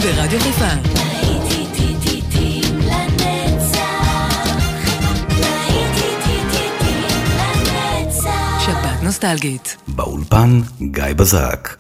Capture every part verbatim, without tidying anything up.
ברדיו חיפה. שבת נוסטלגית. באולפן גיא בזק.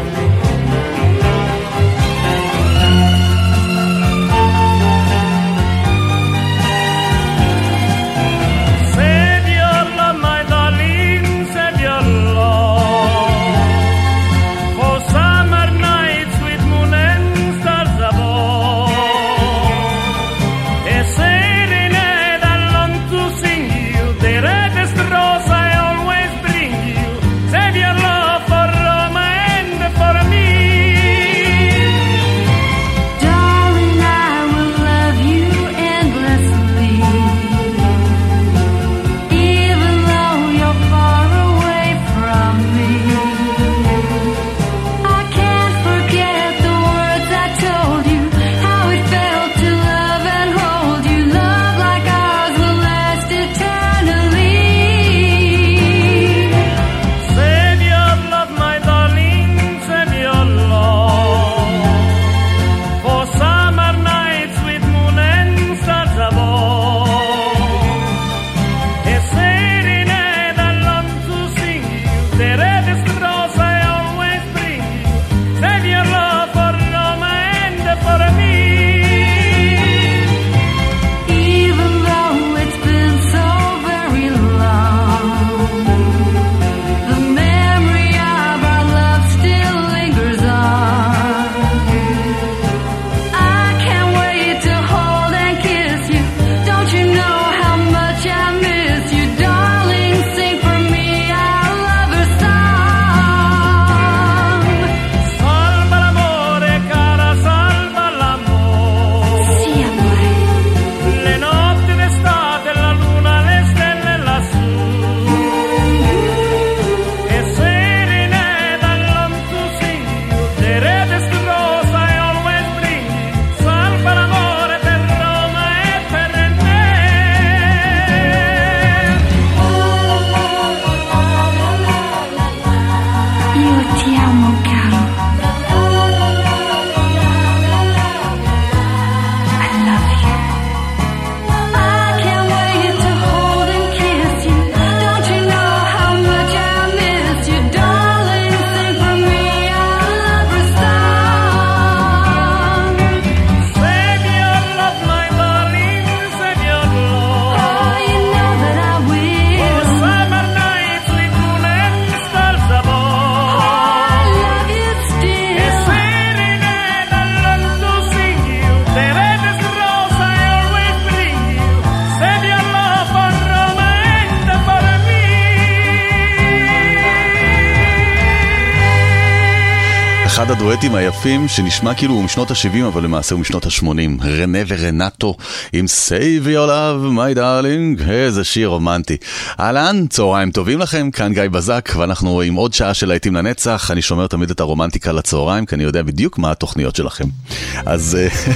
אחד הדואטים היפים שנשמע כאילו הוא משנות ה-שבעים אבל למעשה הוא משנות ה-שמונים. רנה ורנטו עם Save Your Love My Darling, איזה שיר רומנטי. אהלן, צהריים טובים לכם, כאן גיא בזק ואנחנו עם עוד שעה של להיטים לנצח. אני שומר תמיד את הרומנטיקה לצהריים כי אני יודע בדיוק מה התוכניות שלכם. אז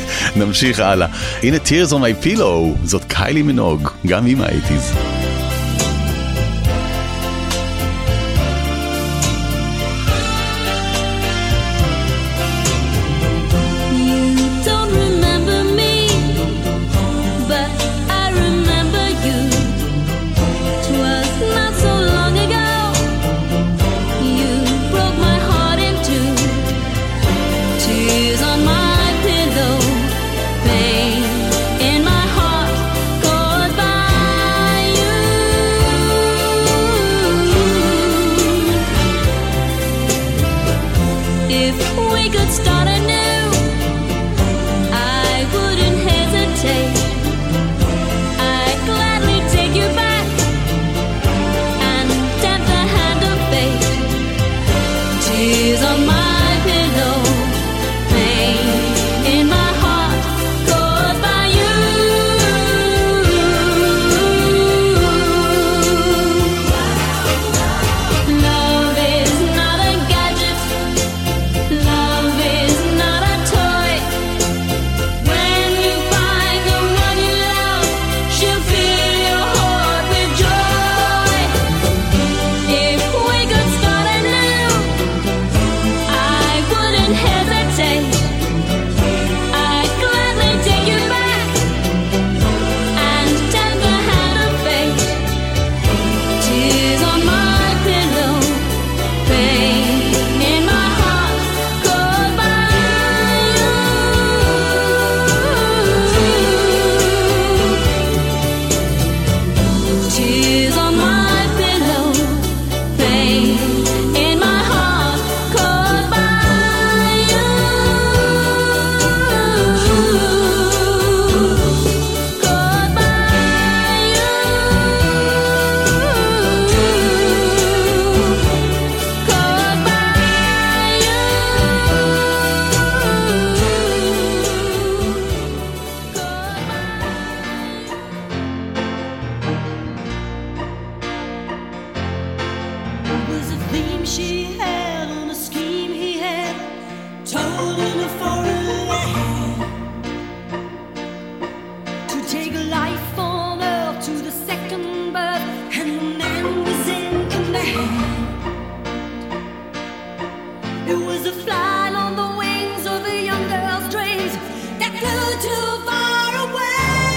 נמשיך הלאה. הנה Tears on My Pillow, זאת קיילי מינוג, גם עם ה-שמונים. You was a theme she had on a scheme he had, told in a foreign land, to take life on earth to the second birth, and the man was in command. It was a flight on the wings of a young girl's dreams that flew too far away.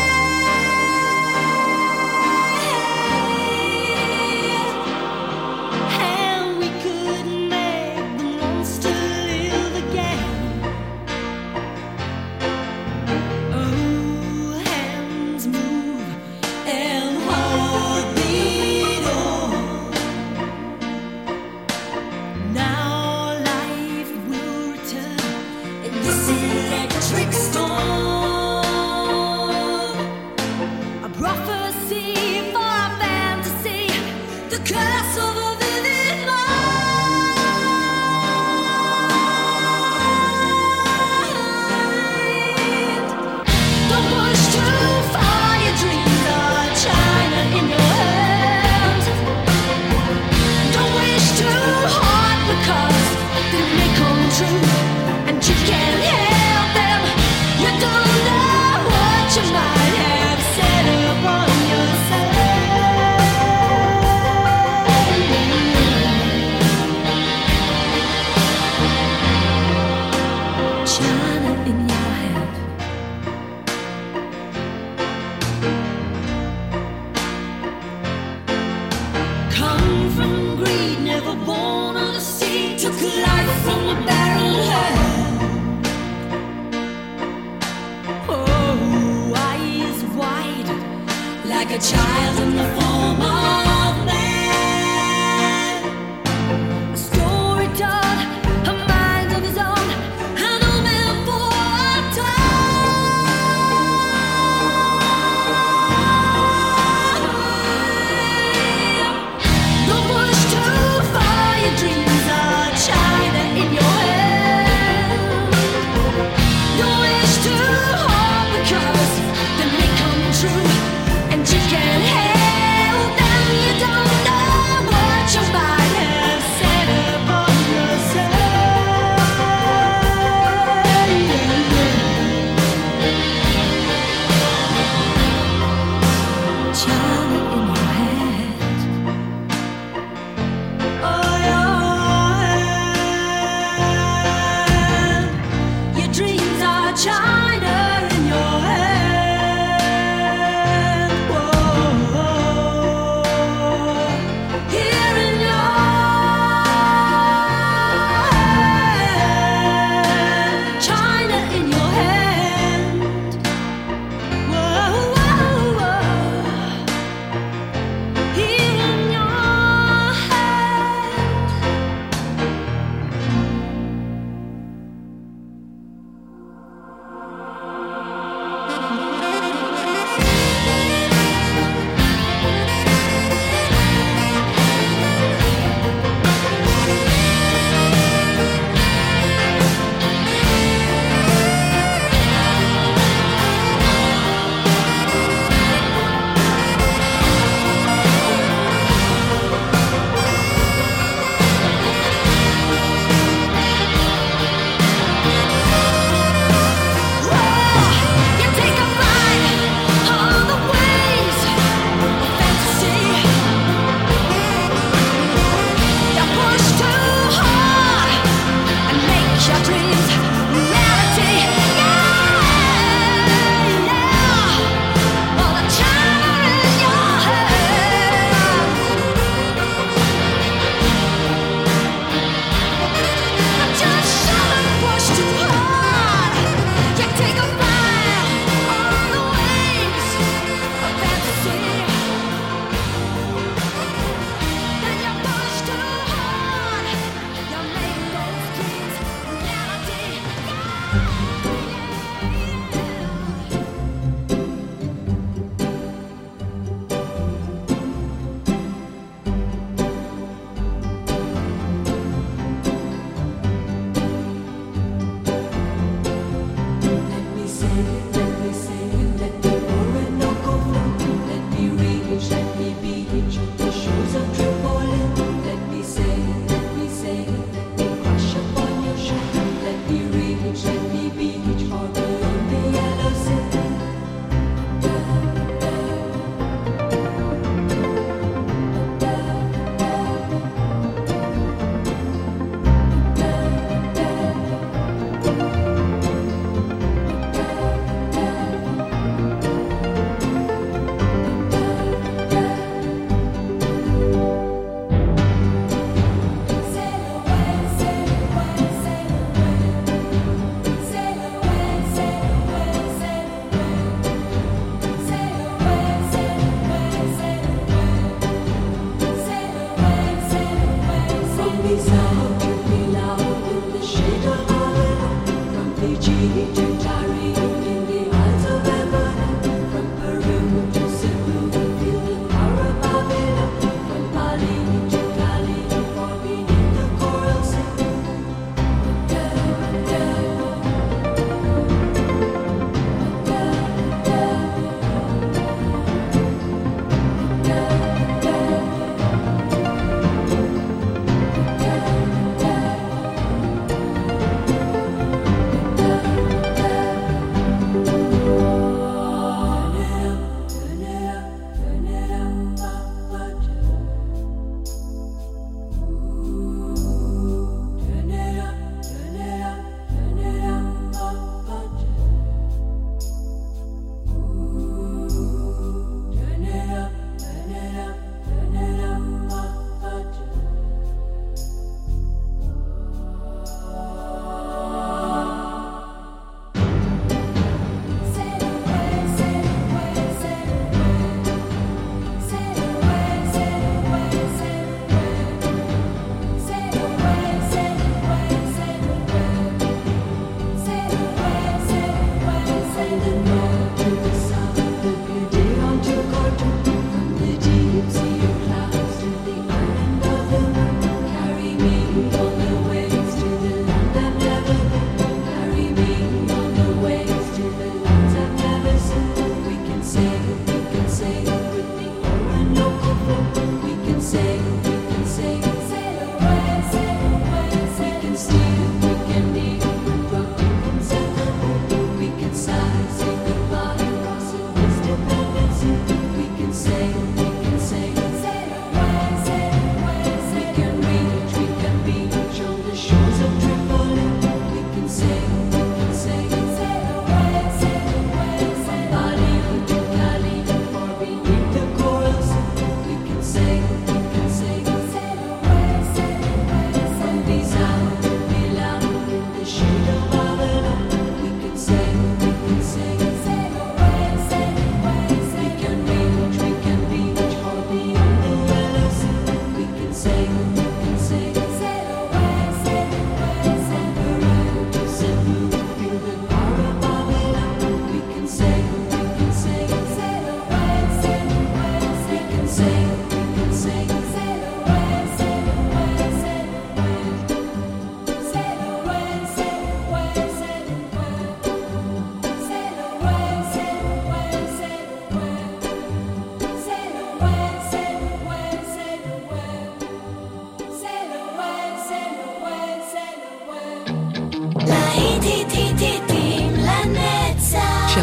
And we couldn't make the monster live again. Oh, hands move and heart beat on. Now life will return in this electric storm. A prophecy for a fantasy, the curse of a vivid mind. Don't push too far, your dreams are China in your hands. Don't wish too hard because they may come true, and you can't help them. You don't know what you might have set upon yourself. China in your hand. Come from greed, never born on the sea, took life from a barren hand. Oh, eyes wide, like a child in the form of man. A story told, a mind of his own, an old man for a time. Don't push too far, your dreams are China in your hand. Don't wish too hard because they may come true, and you can't help them. You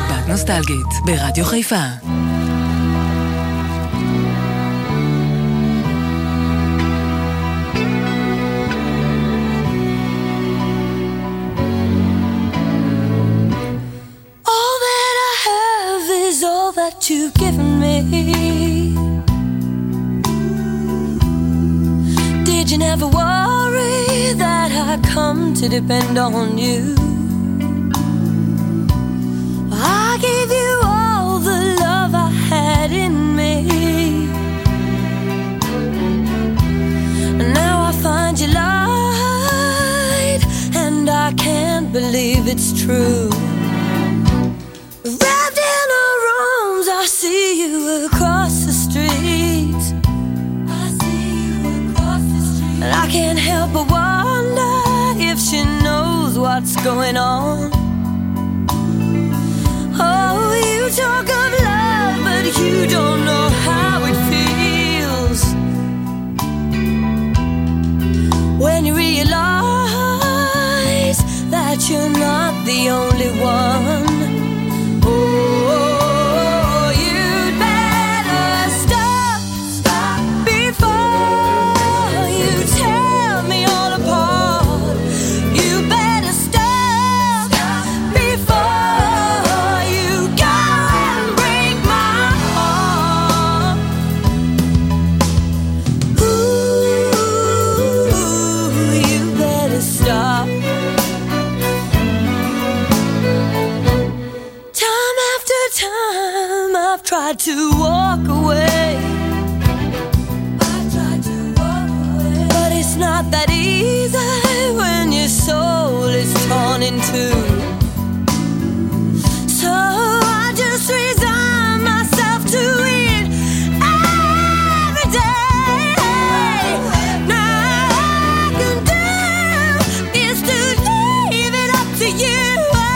שבת נוסטלגית ברדיו חיפה. All that I have is all that you've given me. Did you never worry that I come to depend on you? I gave you all the love I had in me. And now I find you lied, and I can't believe it's true. Wrapped in her arms, I see you across the street. I see you across the street. And I can't help but wonder if she knows what's going on. Oh, you talk of love, but you don't know how it feels when you realize that you're not the only one. Oh, you'd better stop, stop before you tear me all apart. You better stop, stop before you go and break my heart. Ooh, you better stop. Time after time I've tried to walk away. I've tried to walk away. But it's not that easy when your soul is torn in two. So I just resign myself to it every day. Now all I can do is to leave it up to you.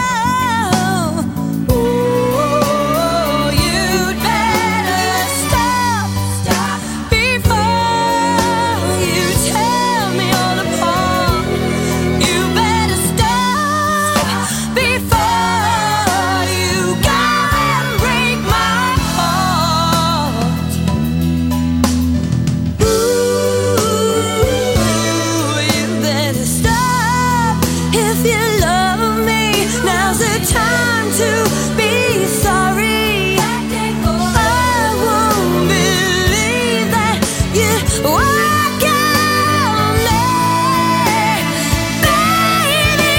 Oh, you'd better stop, stop before you tear me all apart. You better stop before you go and break my heart. Ooh, you better stop if you love me. Now's the time to be sorry. I won't believe that you walk on me, baby.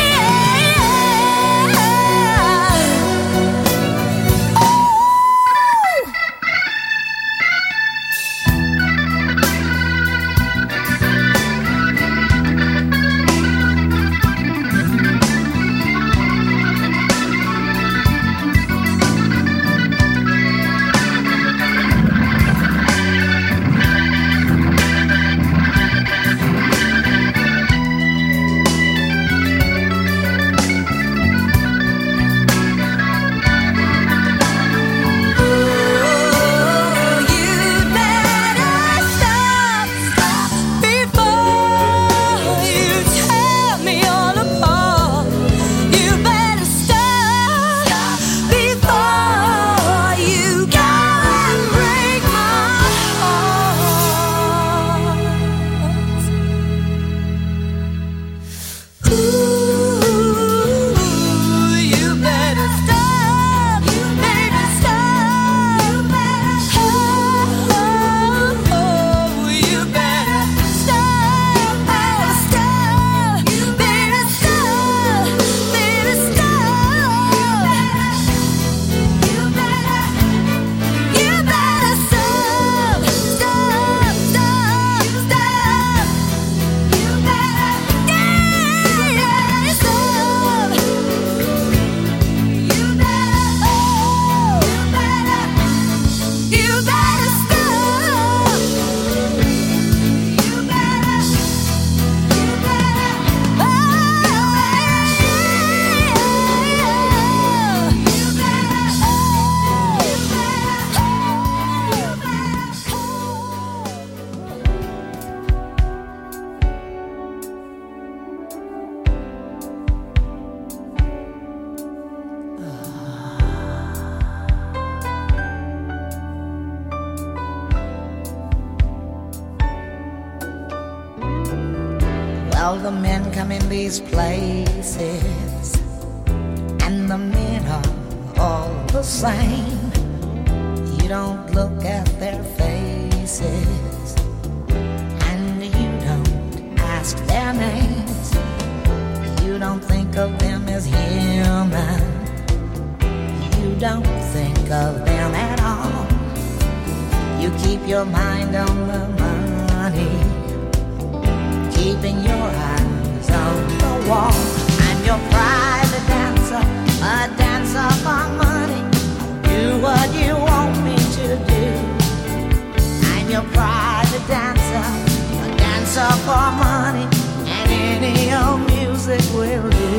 Well, the men come in these places, and the men are all the same. You don't look at their faces, and you don't ask their names. You don't think of them as human. You don't think of them at all. You keep your mind on the money, keeping your eyes on the wall. I'm your private dancer, a dancer for money. Do what you want me to do. I'm your private dancer, a dancer for money, and any old music will do.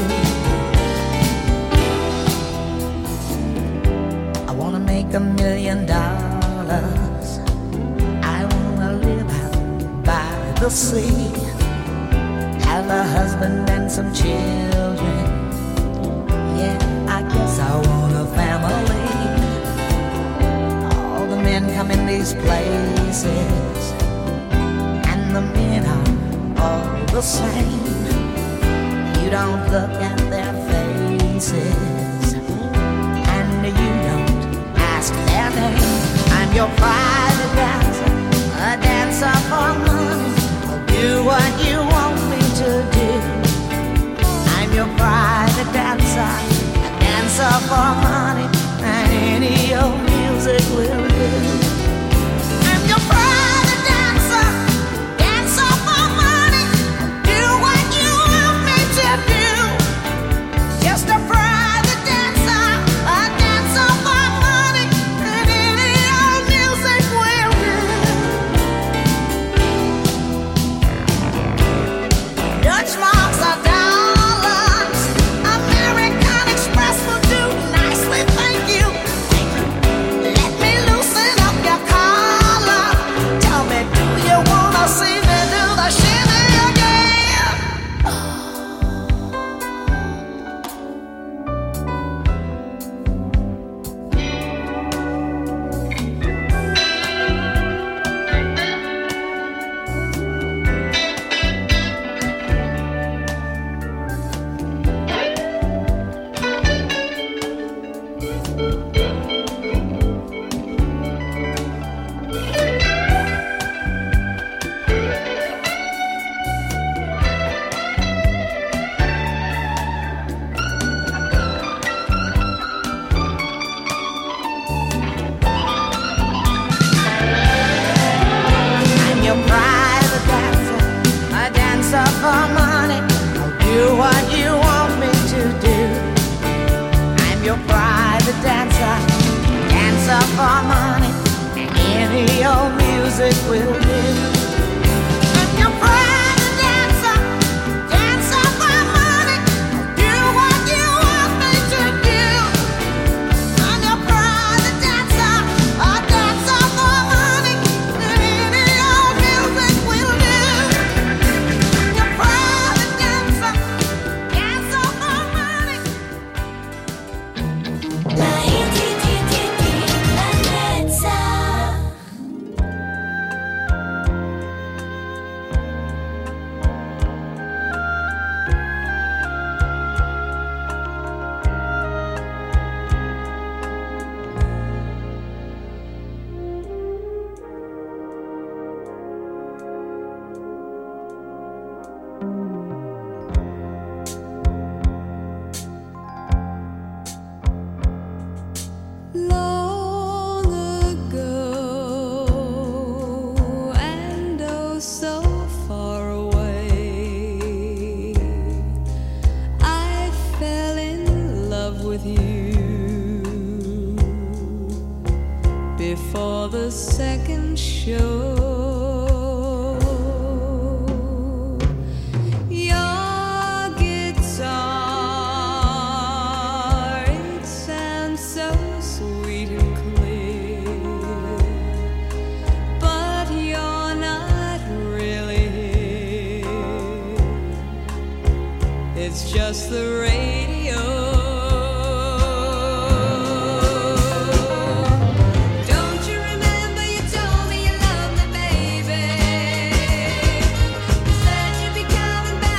I wanna make a million dollars. I wanna live out by the sea, have a husband and some children. Yeah, I guess I want a family. All the men come in these places, and the men are all the same. You don't look at their faces, and you don't ask their name. I'm your private dancer, a dancer for money. I'll do what you want me to do. I'm your private dancer, a dancer for money, and any old music will do. I'm your private dancer, dancer for money. Do what you want me to do. Just a private dancer, a dancer for money, and any old music will do. Dutch marks are dollars, American Express will do nicely, thank you. Let me loosen up your collar. Tell me, do you wanna see me do the shimmy again? I'm your private dancer, a dancer for money. I'll do what you want me to do. I'm your private dancer, dancer for money, and any old music will do. I'm your private dancer, dancer for money. I'll do what you want me to do. I'm your private dancer, a dancer for money, and any old music will do. I'm your private dancer, dancer for money. La ti ti ti ti la mezza. Long ago, and oh so far away, I fell in love with you. Before the second show, your guitar, it sounds so sweet and clear, but you're not really here. It's just the radio. Don't you remember you told me you loved me, baby? You said you'd be coming back.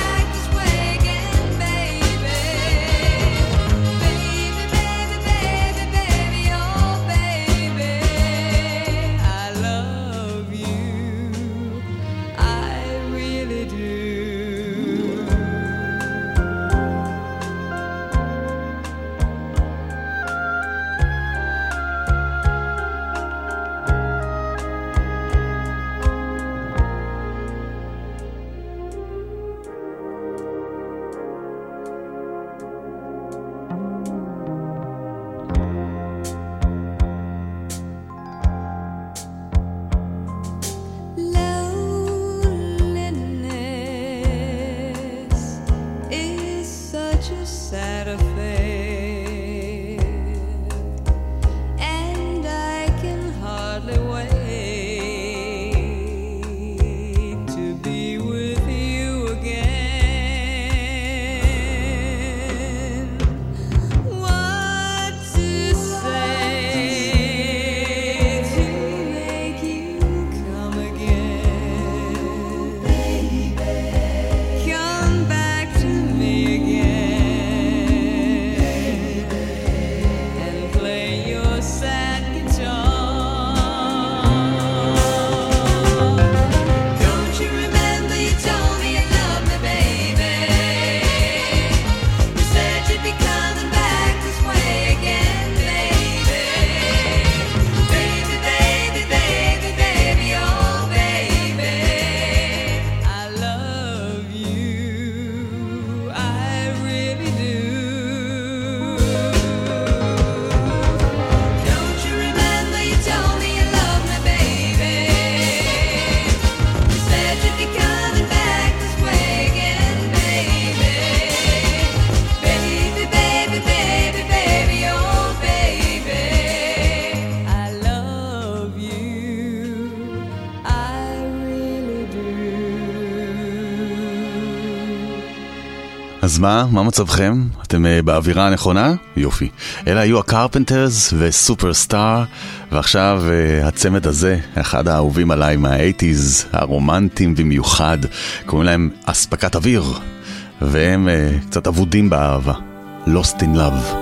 אז מה? מה מצבכם? אתם uh, באווירה הנכונה? יופי. אלה היו הקרפנטרס וסופרסטאר, ועכשיו uh, הצמד הזה, אחד האהובים עליי מה-שמונים, הרומנטיים במיוחד, קוראים להם אספקת אוויר, והם uh, קצת אבודים באהבה. Lost in Love.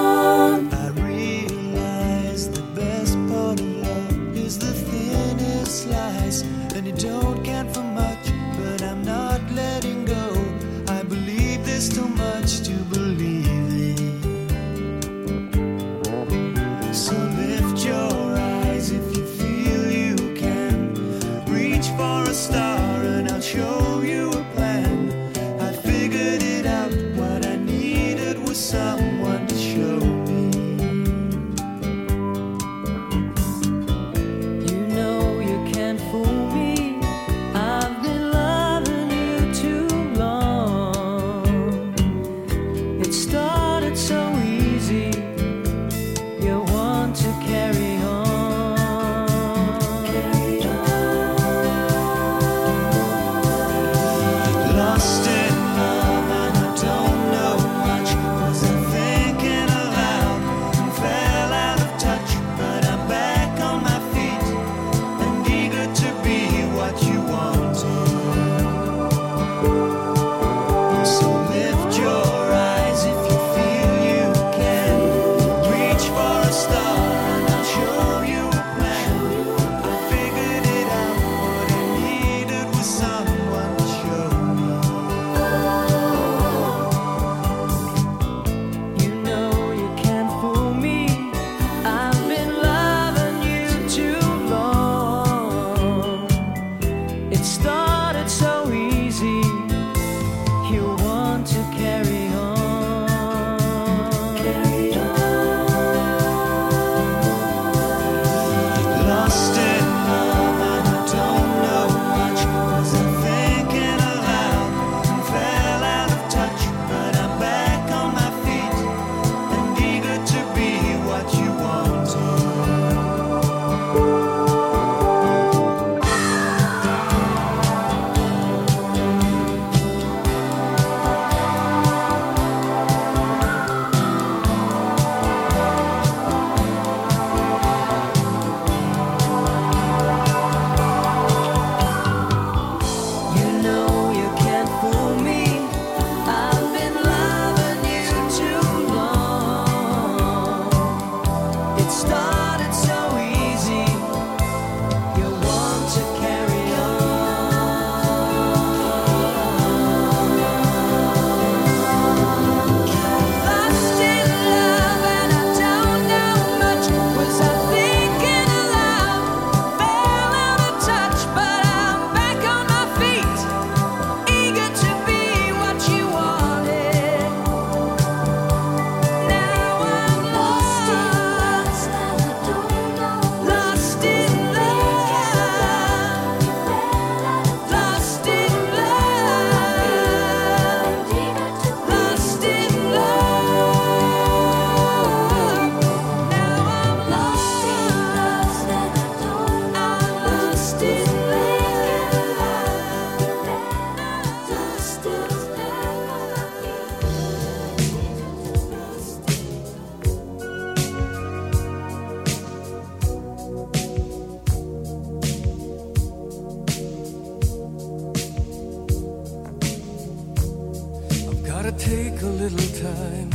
Take a little time,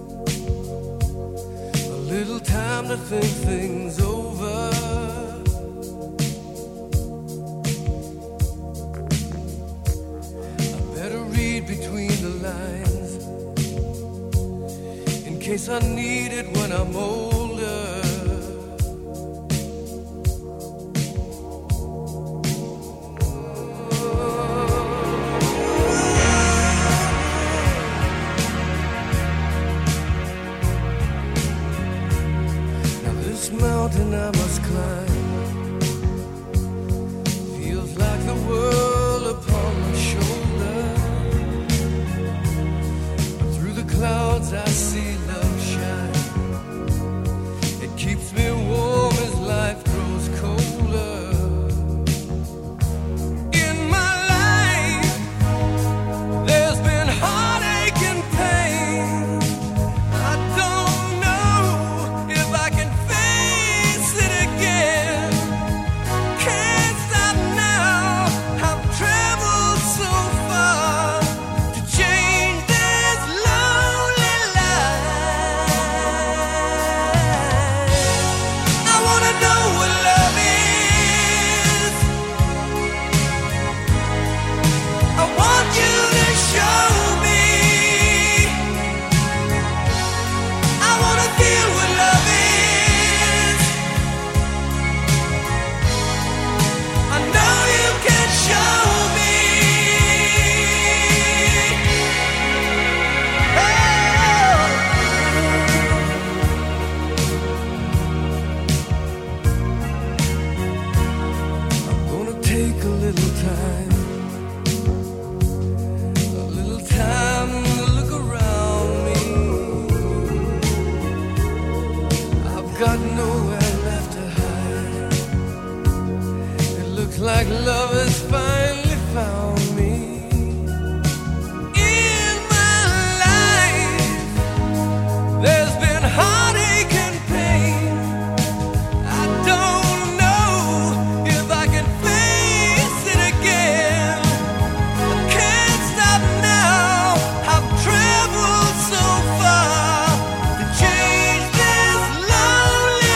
a little time to think things over. I better read between the lines in case I need it when I'm older. Mountain I must climb feels like the world upon my shoulder. But through the clouds I see love shine. It little time, a little time to look around me. I've got nowhere left to hide. It looks like love has finally found me. In my life, there's been heartache and pain. I don't know if I can face it again. I can't stop now. I've traveled so far to change this lonely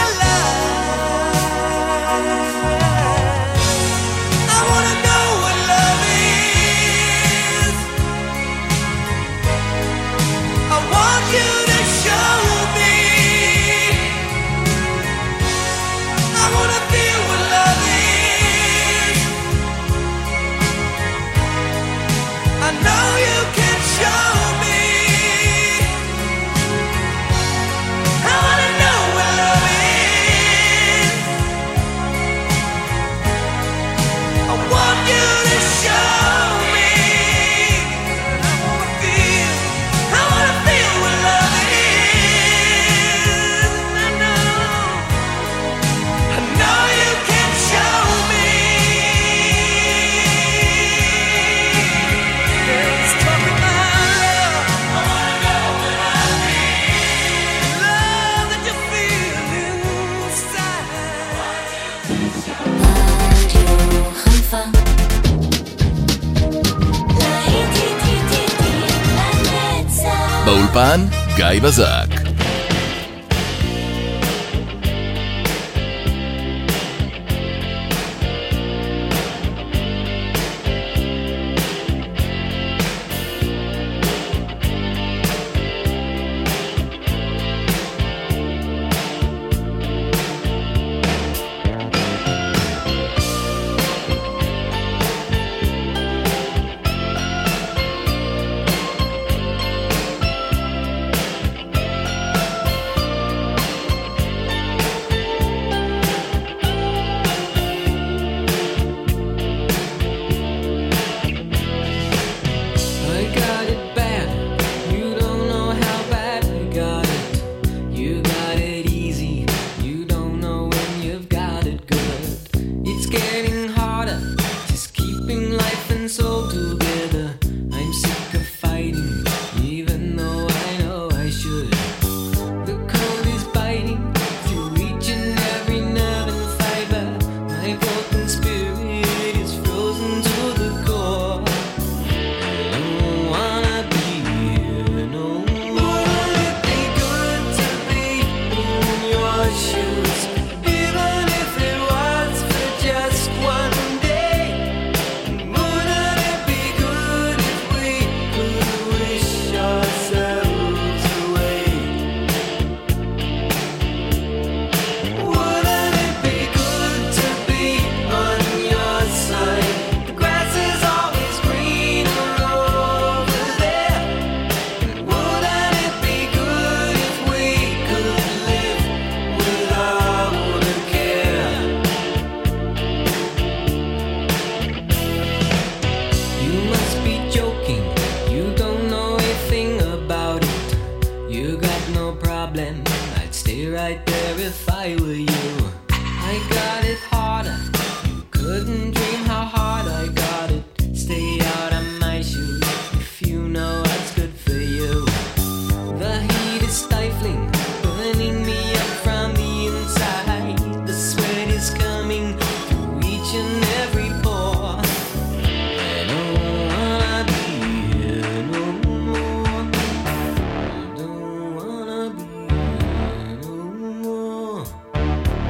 life. I wanna know what love is. I want you to show me. I wanna feel what love is. I know you can show me. I wanna know what love is. I want you to show me. I wanna feel, I wanna feel what love is. I know, I know you can show me. Let's talk about love. I wanna know what love is. Love that you feel inside. באולפן גיא בזק. I got it bad. You don't know how bad I got it. You got it easy. You don't know when you've got it good. It's getting harder, just keeping life and soul together. I'm sick of fighting, even though I know I should. The cold is biting through each and every nerve and fiber. My broken spirit is frozen to the core. I don't wanna be here no more. Wouldn't it be good to be in your shoes, even if it was for just one day? Wouldn't it be good if we could wish ourselves away? Wouldn't it be good to be on your side? The grass is always greener over there. Wouldn't it be good if we could live without a care? You must be joking. You don't know a thing about it. You got no problem. I'd stay right there if I were you. I got it harder. You couldn't dream how hard I got it. Stay out of my shoes if you know what's good for you. The heat is stifling, burning me up from the inside. The sweat is coming through each and every pore. I don't wanna be here no more. I don't wanna be here no more.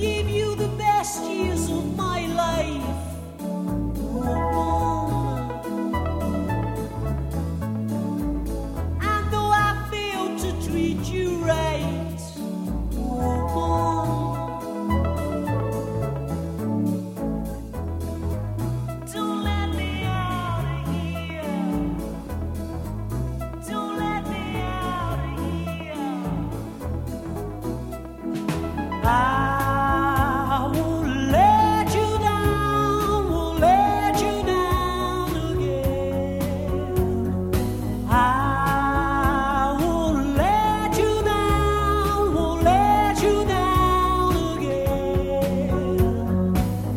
give you the best years of my life. And though I failed to treat you right, don't let me out of here. Don't let me out of here. I won't let you down, won't let you down again. I won't let you down, won't let you down again.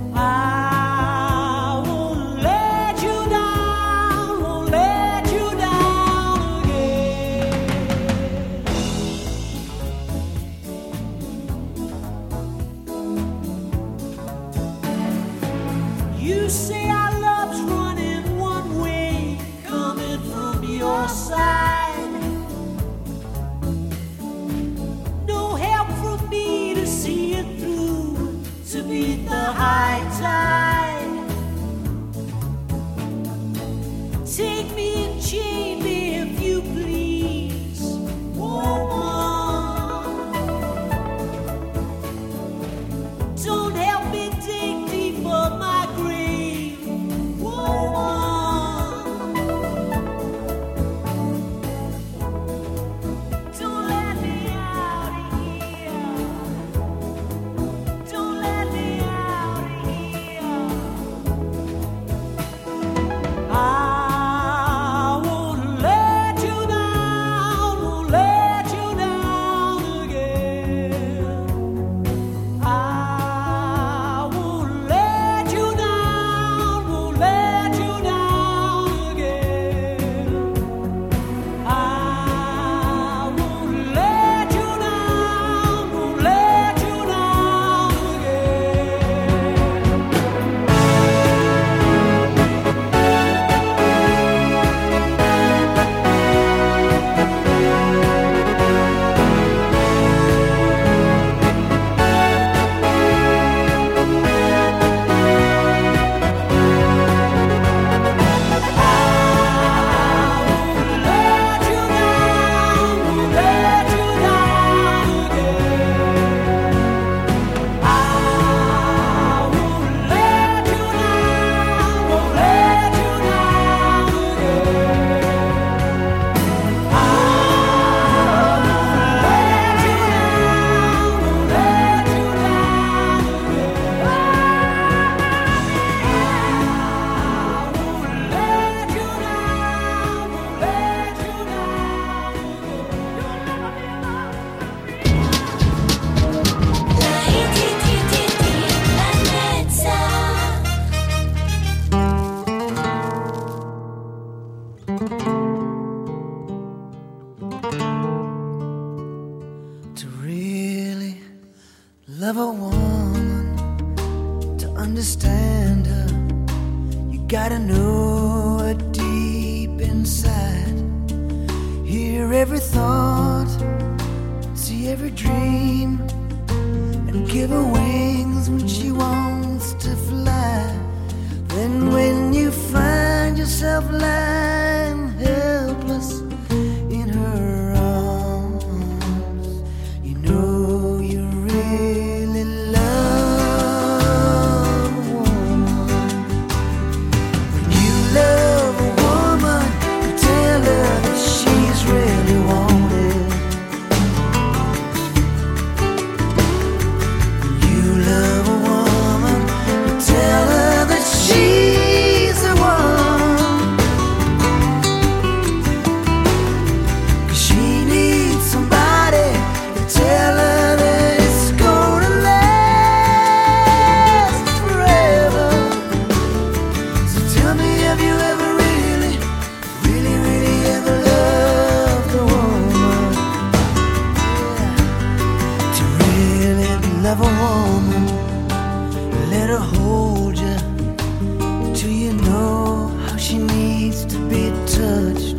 I won't let you down, won't let you down again. You say our love's running one way, coming from your side. No help from me to see it through, to beat the high tide. Take me and chain me if you please, woman. Don't help me dig deep for my grave, woman. Don't let me out of here. Don't let me out of here. I won't let you down, won't let you down again. I won't let you down, won't let you down again. I won't let you down, won't let you down to really love a woman, to understand her, you gotta know her deep inside. Hear every thought, see every dream, and give her wings when she wants to fly. Then when you find yourself lying helpless in her arms, you know you really love a woman. When you love a woman, you tell her that she's really wanted. When you love a woman, you tell her that she's the one. 'Cause she needs somebody to tell her that it's gonna last forever. So tell me, have you ever really, really, really ever loved a woman? Yeah. To really love a woman, let her hold you till you know how she needs to be touched.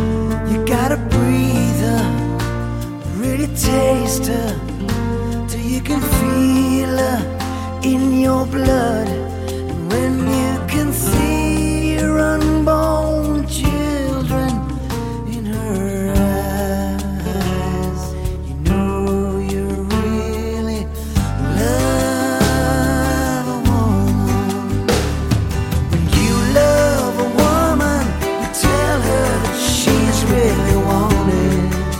You gotta breathe her, really taste her, till you can feel her in your blood, and when you can see your unborn children in her eyes, you know you really love a woman. When you love a woman, you tell her that she's really wanted.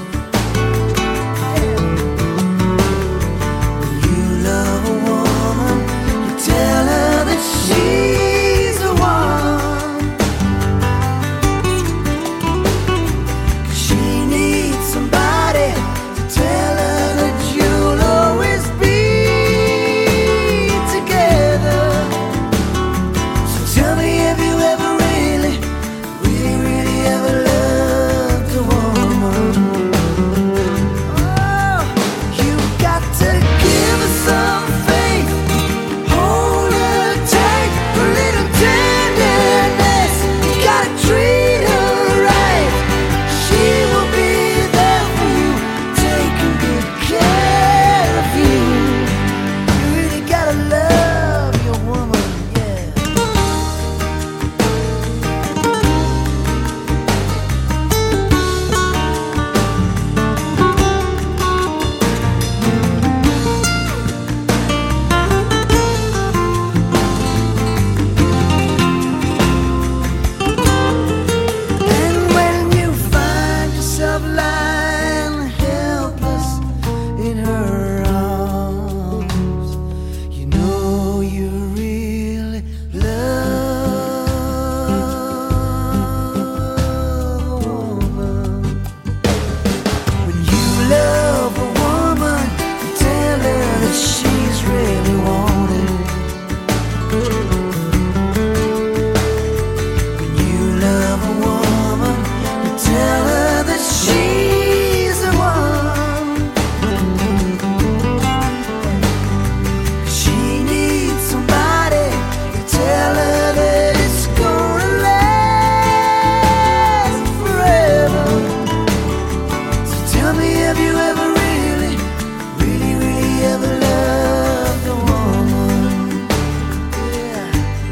She's the one. She needs somebody to tell her that you'll always be together. So tell me, have you ever really, really, really ever loved a woman? Oh, you got to give her some faith. Hold her tight, a little tenderness. You gotta treat her right. She will be there for you, taking good care of you. You really gotta love your woman, yeah. And when you find yourself lying helpless in her arms, you know you really love a woman. When you love a woman, you tell her that she's really wanted. When you love a woman, you tell her that she's the one. She needs somebody to tell her that it's gonna last forever. So tell me, have you ever really, really, really ever loved a woman? Yeah.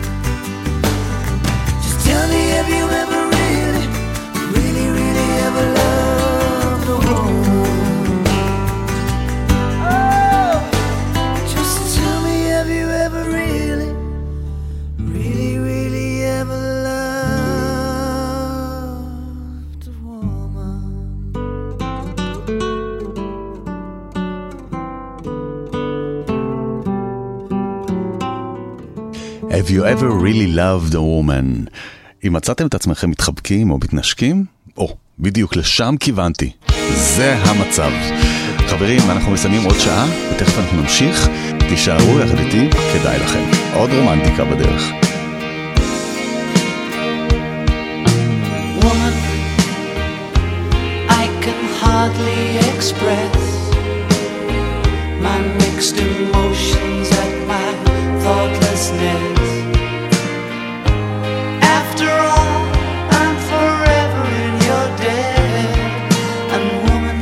Just tell me, have you ever really, really, really ever loved a woman? Oh, just tell me, have you ever really, really, really ever loved a woman? Have you ever really loved a woman? אם מצאתם את עצמכם מתחבקים או מתנשקים, או, בדיוק לשם כיוונתי. זה המצב. חברים, אנחנו מסיימים עוד שעה, ותכף אנחנו נמשיך. תישארו יחד איתי, כדאי לכם. עוד רומנטיקה בדרך. Woman, I can hardly express my mixed emotions at my thoughtlessness. After all, I'm forever in your debt. And woman,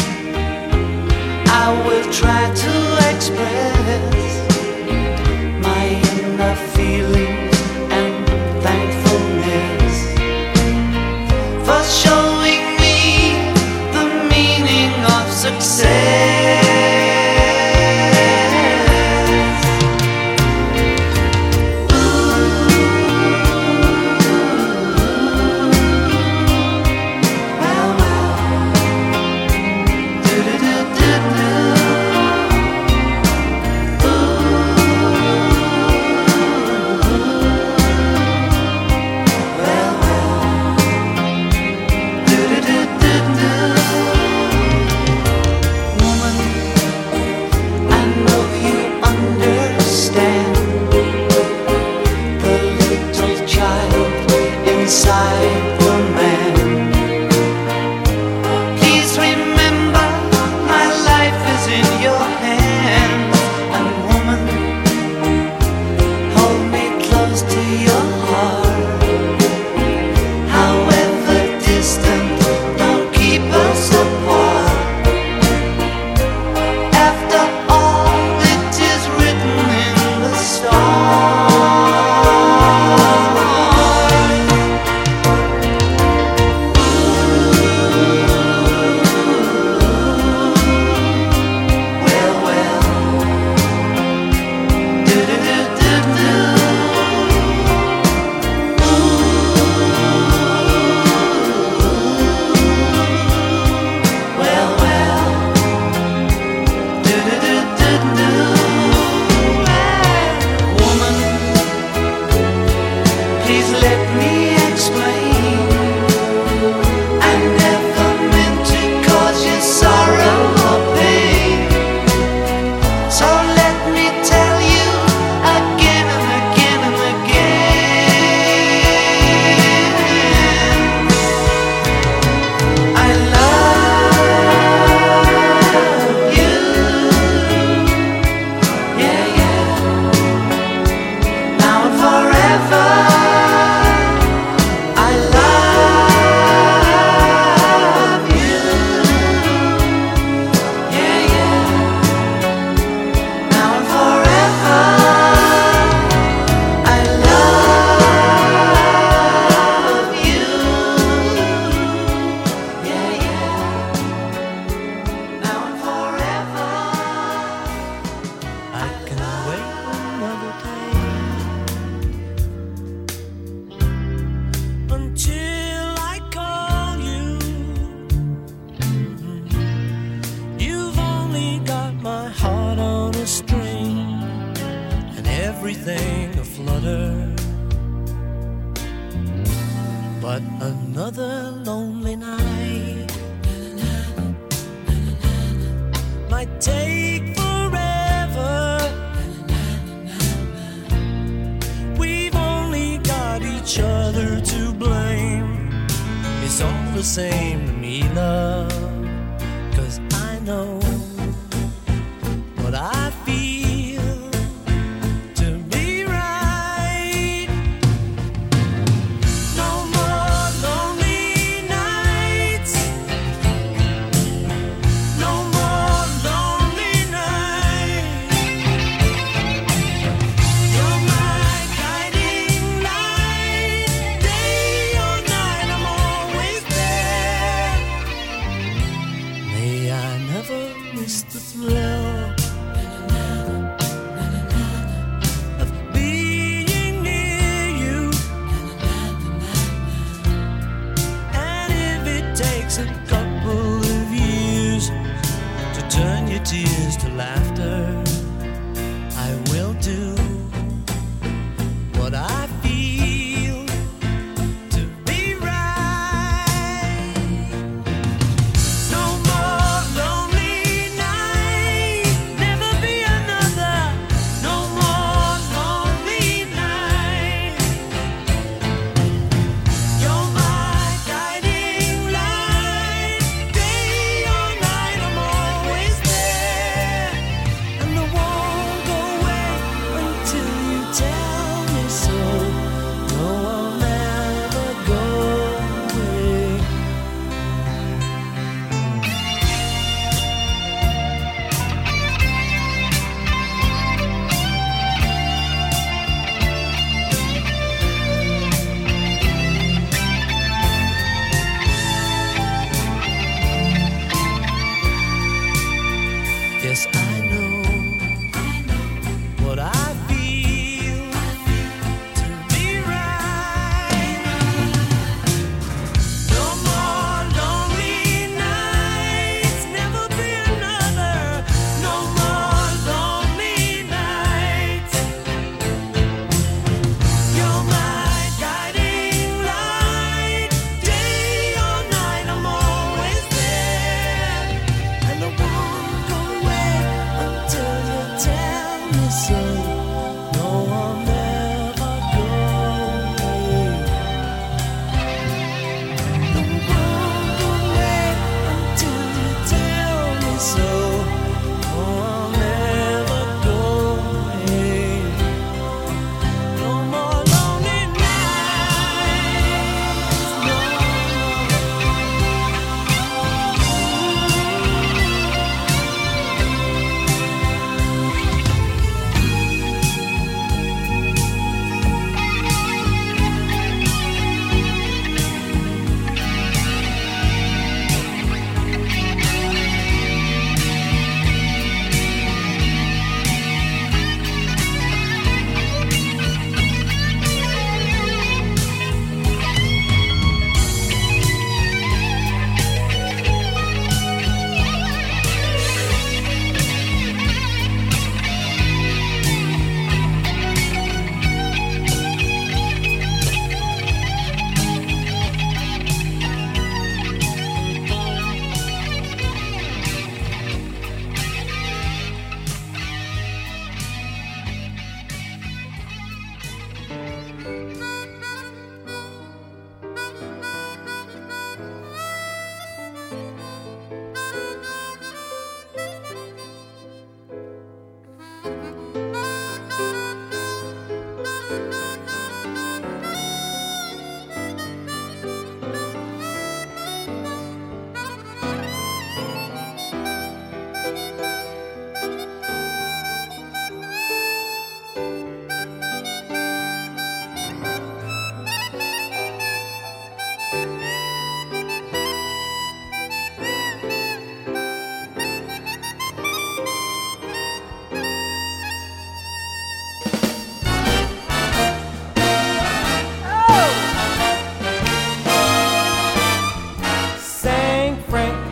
I will try to express my inner feelings and thankfulness for showing me the meaning of success. everything aflutter. But another lonely night might take forever. We've only got each other to blame. It's all the same to me, love, 'cause I know what I feel to be right. No more lonely nights. No more lonely nights. You're my guiding light. Day or night, I'm always there. May I never miss the thrill of being near you. And if it takes a couple of years to turn your tears to laughter, I will do what I feel to be right. No more lonely night, never be another. No more lonely night. You're my guiding light. Day or night, I'm always there. And I won't go away until you tell me so. No, I'll never go away. Yes, I know what I feel to be right. No more lonely nights, never be another. No more lonely nights. You're my guiding light. Day or night, I'm always there. And I won't go away until you tell me so. No, I'll never go away. No, I won't go away until you tell me so. No, I'll never go away. No more lonely nights. No.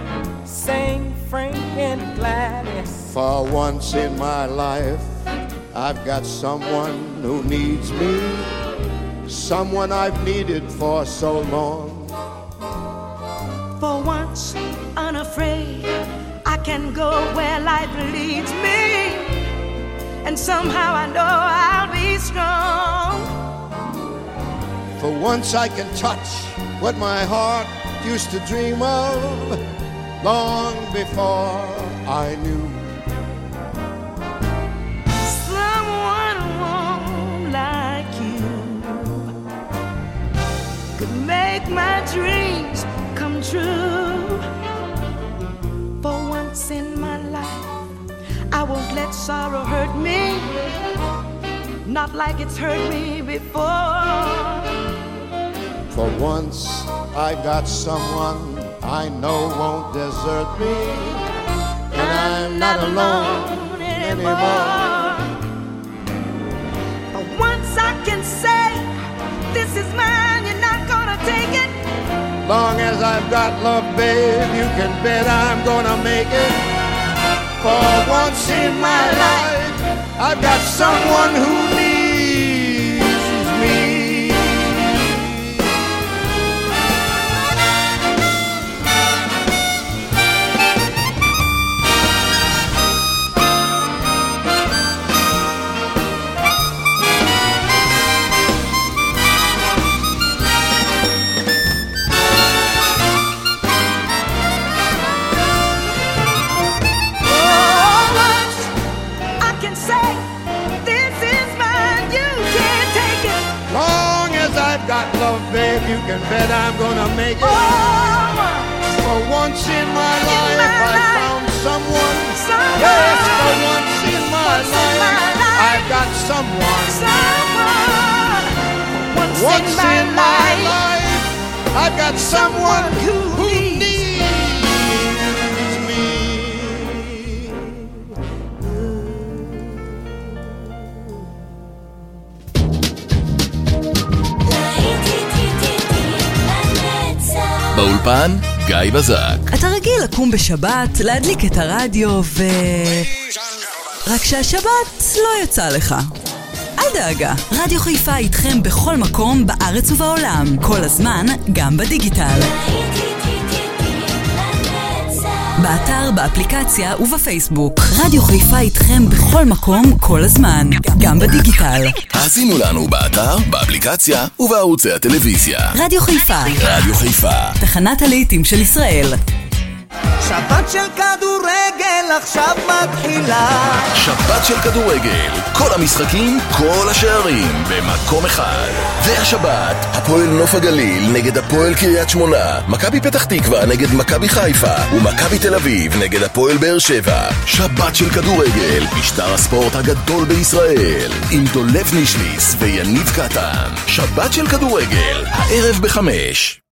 For once in my life, I've got someone who needs me, someone I've needed for so long. For once, unafraid, I can go where life leads me, and somehow I know I'll be strong. For once I can touch what my heart used to dream of long before I knew. Someone warm like you could make my dreams come true. For once in my life, I won't let sorrow hurt me, not like it's hurt me before. For once I've got someone I know won't desert me, and I'm not alone anymore. For once I can say, this is mine, you're not gonna take it. Long as I've got love, babe, you can bet I'm gonna make it. For once in my life, I've got someone who needs me. Got love, babe, you can bet I'm gonna make it. Oh, for once in my in life, my I life, found someone. someone. Yes, for once in my, Once in life, my life, I've got someone. someone. Once, Once in my, in my life, life, I've got someone who, who needs needs me. באולפן, גיא בזק. אתה רגיל לקום בשבת, להדליק את הרדיו ו... רק שהשבת לא יצא לך. אל דאגה, רדיו חיפה איתכם בכל מקום בארץ ובעולם. כל הזמן, גם בדיגיטל. באתר, באפליקציה ובפייסבוק. רדיו חיפה איתכם בכל מקום, כל הזמן. גם בדיגיטל. האזינו לנו באתר, באפליקציה ובערוצי הטלוויזיה. רדיו חיפה. רדיו חיפה. תחנת הלהיטים של ישראל. שבת של כדורגל עכשיו מתחילה. שבת של כדורגל, כל המשחקים, כל השערים במקום אחד. והשבת, הפועל נוף הגליל נגד הפועל קריית שמונה, מכבי פתח תקווה נגד מכבי חיפה ומכבי תל אביב נגד הפועל באר שבע. שבת של כדורגל, משטר הספורט הגדול בישראל, עם דולב נישליס ויניב קטן. שבת של כדורגל, הערב בחמש.